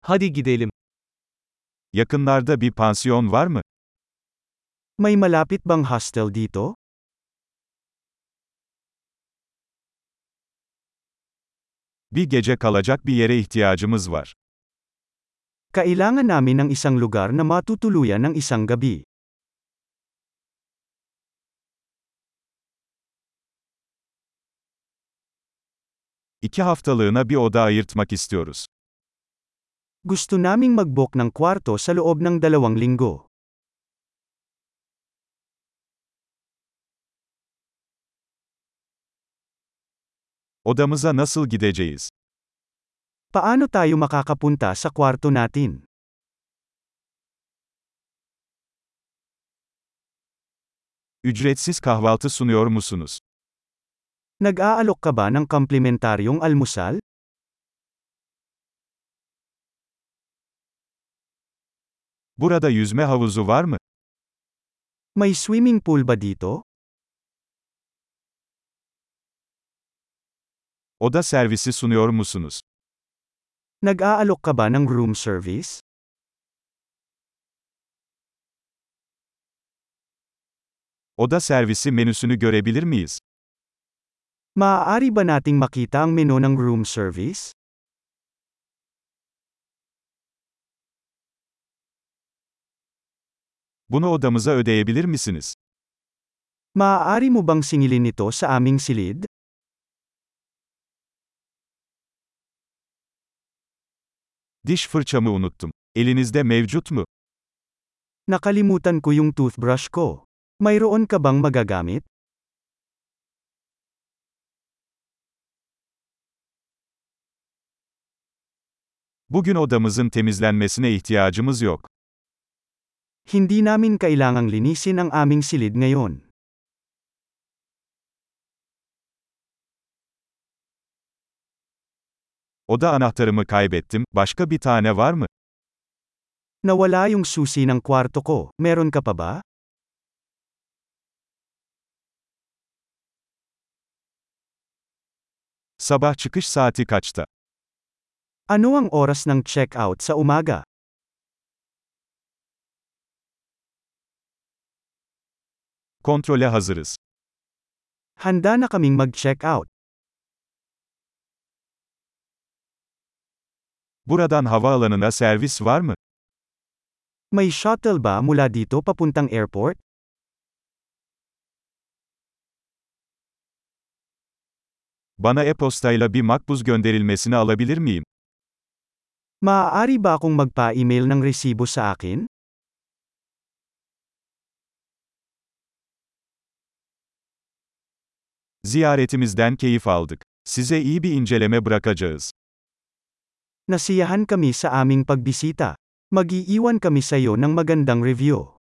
Hadi gidelim. Yakınlarda bir pansiyon var mı? May malapit bang hostel dito? Bir gece kalacak bir yere ihtiyacımız var. Kailangan namin ng isang lugar na matutuluyan ng isang gabi. İki haftalığına bir oda ayırtmak istiyoruz. Gusto naming mag-book ng kwarto sa loob ng 2 linggo. Odamıza nasıl gideceğiz? Paano tayo makakapunta sa kwarto natin? Ücretsiz kahvaltı sunuyor musunuz? Nag-aalok ka ba ng komplementaryong almusal? Burada yüzme havuzu var mı? May swimming pool ba dito? Oda servisi sunuyor musunuz? Nag-aalok ka ba ng room service? Oda servisi menüsünü görebilir miyiz? Maaari ba nating makita ang menu ng room service? Bunu odamıza ödeyebilir misiniz? Maaari mo bang singilin ito sa aming silid? Diş fırçamı unuttum. Elinizde mevcut mu? Nakalimutan ko yung toothbrush ko. Mayroon ka bang magagamit? Bugün odamızın temizlenmesine ihtiyacımız yok. Hindi namin kailangang linisin ang aming silid ngayon. Oda anahtarımı kaybettim. Başka bir tane var mı? Nawala yung susi ng kwarto ko, meron ka pa ba? Sabah çıkış saati kaçta? Ano ang oras ng check-out sa umaga? Kontrole hazırız. Handa na kaming mag-check-out. Buradan havaalanına servis var mı? May shuttle ba mula dito papuntang airport? Bana e-postayla bir makbuz gönderilmesini alabilir miyim? Maaari ba akong magpa-email ng resibo sa akin? Ziyaretimizden keyif aldık. Size iyi bir inceleme bırakacağız. Nasiyahan kami sa aming pagbisita. Mag-iiwan kami sa iyo ng magandang review.